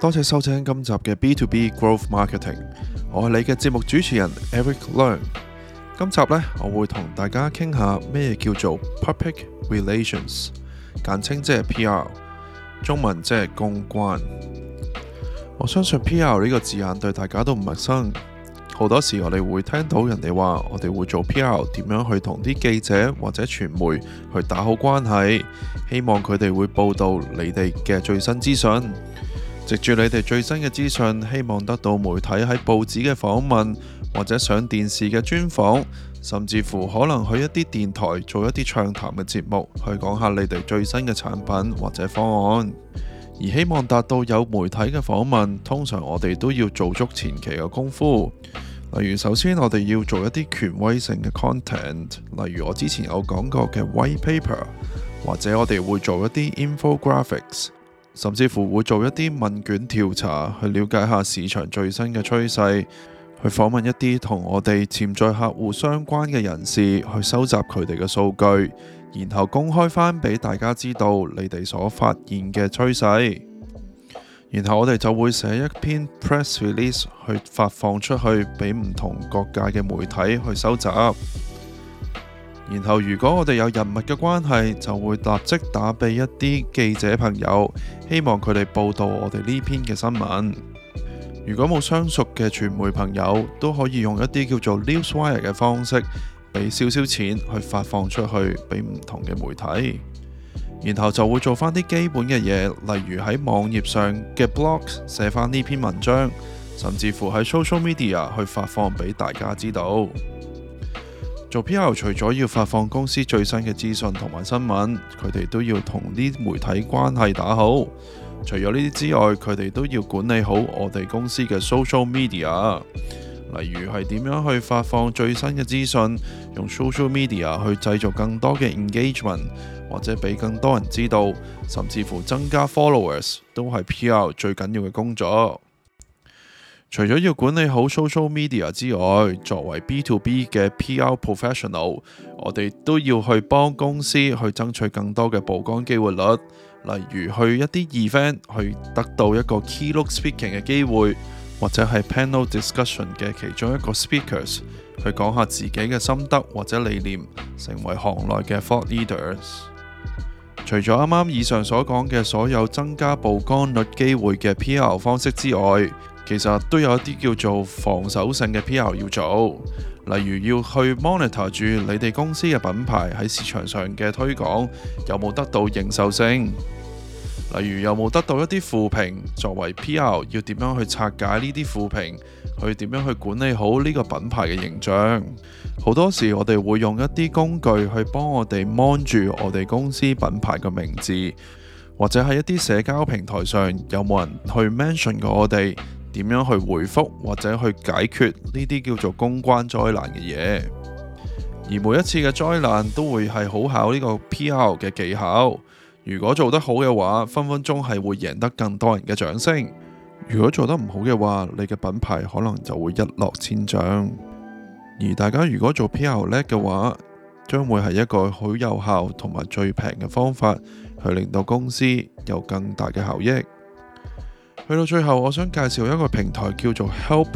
多謝收聽今集嘅 B2B Growth Marketing， 我係你嘅節目主持人 Eric Leung。今集呢，我會同大家傾下咩叫做 Public Relations， 簡稱即係 PR， 中文即係公關。我相信 PR 呢個字眼對大家都唔陌生，好多時我哋會聽到人哋話我哋會做 PR， 點樣去同啲記者或者傳媒去打好關係，希望佢哋會報道你哋嘅最新資訊。藉住你哋最新嘅資訊，希望得到媒體喺報紙嘅訪問，或者上電視嘅專訪，甚至乎可能去一啲電台做一啲暢談嘅節目，去講下你哋最新嘅產品或者方案。而希望達到有媒體嘅訪問，通常我哋都要做足前期嘅功夫。例如首先我哋要做一啲權威性嘅 content， 例如我之前有講過嘅 white paper， 或者我哋會做一啲 infographics，甚至乎會做一啲問卷調查，去了解下市場最新嘅趨勢，去訪問一啲同我哋潛在客戶相關嘅人士，去收集佢哋嘅數據，然後公開返俾大家知道你哋所發現嘅趨勢。然後我哋就會寫一篇 press release 去發放出去俾唔同各界嘅媒體去收集。然後如果我哋有人脈嘅關係，就會立即打俾一啲記者朋友，希望佢哋報道我哋呢篇嘅新聞。如果冇相熟嘅傳媒朋友，都可以用一啲叫做 newswire 嘅方式，俾少少錢去發放出去俾唔同嘅媒體。然後就會做翻啲基本嘅嘢，例如喺網頁上嘅 blog 寫翻呢篇文章，甚至乎喺 social media 去發放俾大家知道。做 PR 除咗要發放公司最新嘅資訊同埋新聞，佢哋都要同啲媒體關係打好。除咗呢啲之外，佢哋都要管理好我哋公司嘅 social media， 例如係點樣去發放最新嘅資訊，用 social media 去製造更多嘅 engagement， 或者俾更多人知道，甚至乎增加 followers， 都係 PR 最緊要嘅工作。除咗要管理好 social media 之外，作為 B2B 嘅 PR professional， 我哋都要去幫公司去爭取更多嘅曝光機會率，例如去一啲 event 去得到一個 keynote speaking 嘅機會，或者係 panel discussion 嘅其中一個 speakers 去講下自己嘅心得或者理念，成為行內嘅 thought leaders。除咗啱啱以上所講嘅所有增加曝光率機會嘅 PR 方式之外，其實都有一啲叫做防守性嘅 PR 要做，例如要去 monitor 住你哋公司嘅品牌喺市場上嘅推廣有冇得到認受性，例如有冇得到一啲負評，作為 PR 要點樣去拆解呢啲負評，去點樣去管理好呢個品牌嘅形象。好多時我哋會用一啲工具去幫我哋 mon 住我哋公司品牌嘅名字，或者喺一啲社交平台上有冇人去 mention 過我哋，點樣去回覆或者去解決呢啲叫做公關災難嘅嘢。而每一次嘅災難都會係好考呢個 PR 嘅技巧，如果做得好嘅話，分分鐘係會贏得更多人嘅掌聲。如果做得唔好嘅話，你嘅品牌可能就會一落千丈。而大家如果做 PR 叻嘅話，將會係一個好有效同埋最平嘅方法，去令到公司有更大嘅效益。去到最後，我想介紹一個平台叫做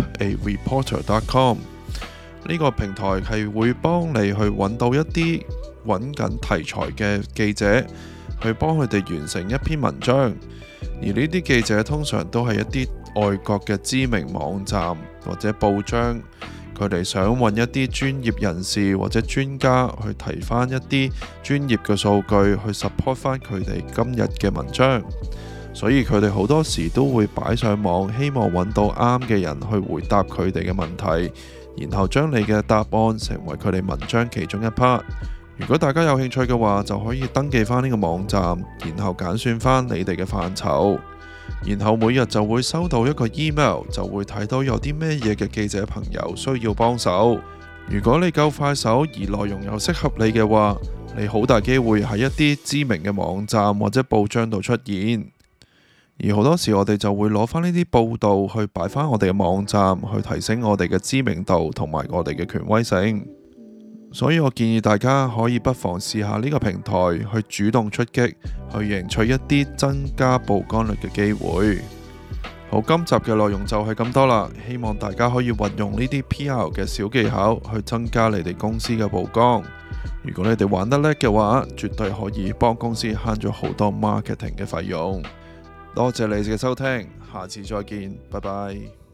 helpareporter.com。 呢個平台係會幫你去揾到一啲揾緊題材嘅記者，去幫佢哋完成一篇文章。而呢啲記者通常都係一啲外國嘅知名網站或者報章，佢哋想揾一啲專業人士或者專家去提翻一啲專業嘅數據，去 support 翻佢哋今日嘅文章。所以佢哋好多時都會擺上網，希望揾到啱嘅人去回答佢哋嘅問題，然後將你嘅答案成為佢哋文章其中一 part。如果大家有興趣嘅話，就可以登記翻呢個網站，然後揀選翻你哋嘅範疇，然後每日就會收到一個 email， 就會睇到有啲咩嘢嘅記者朋友需要幫手。如果你夠快手而內容又適合你嘅話，你好大機會喺一啲知名嘅網站或者報章度出現。而好多時我哋就會攞翻呢啲報道去擺翻我哋嘅網站，去提升我哋嘅知名度同埋我哋嘅權威性。所以我建議大家可以不妨試下呢個平台，去主動出擊，去贏取一啲增加曝光率嘅機會。 好，今集嘅內容就係咁多啦，希望大家可以運用呢啲 PR 嘅小技巧去增加你哋公司嘅曝光。如果你哋玩得叻嘅話，絕對可以幫公司慳咗好多 marketing 嘅費用。多謝你哋嘅收聽，下次再見，拜拜。